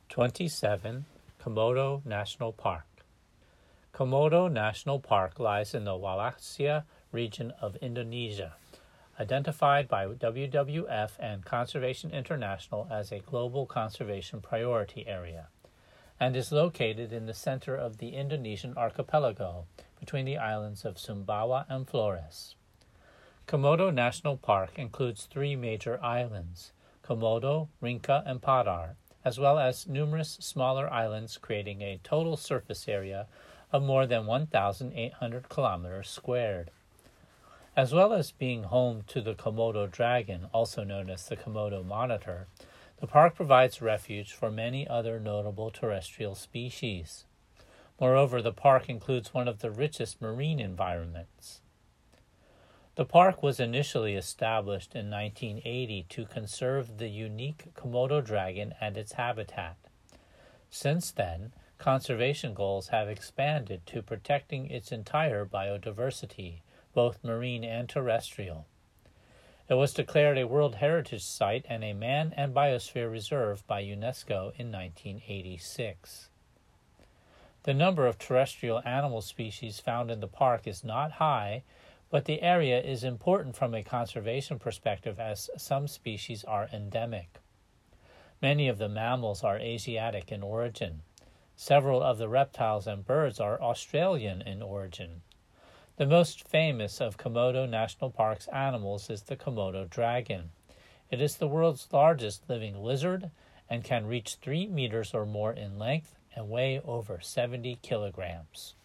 27. Komodo National Park. Komodo National Park lies in the Wallacea region of Indonesia, identified by WWF and Conservation International as a global conservation priority area, and is located in the center of the Indonesian archipelago between the islands of Sumbawa and Flores. Komodo National Park includes 3 major islands, Komodo, Rinca, and Padar, as well as numerous smaller islands, creating a total surface area of more than 1,800 kilometers squared. As well as being home to the Komodo dragon, also known as the Komodo monitor, the park provides refuge for many other notable terrestrial species. Moreover, the park includes one of the richest marine environments. The park was initially established in 1980 to conserve the unique Komodo dragon and its habitat. Since then, conservation goals have expanded to protecting its entire biodiversity, both marine and terrestrial. It was declared a World Heritage Site and a Man and Biosphere Reserve by UNESCO in 1986. The number of terrestrial animal species found in the park is not high, but the area is important from a conservation perspective as some species are endemic. Many of the mammals are Asiatic in origin. Several of the reptiles and birds are Australian in origin. The most famous of Komodo National Park's animals is the Komodo dragon. It is the world's largest living lizard and can reach 3 meters or more in length and weigh over 70 kilograms.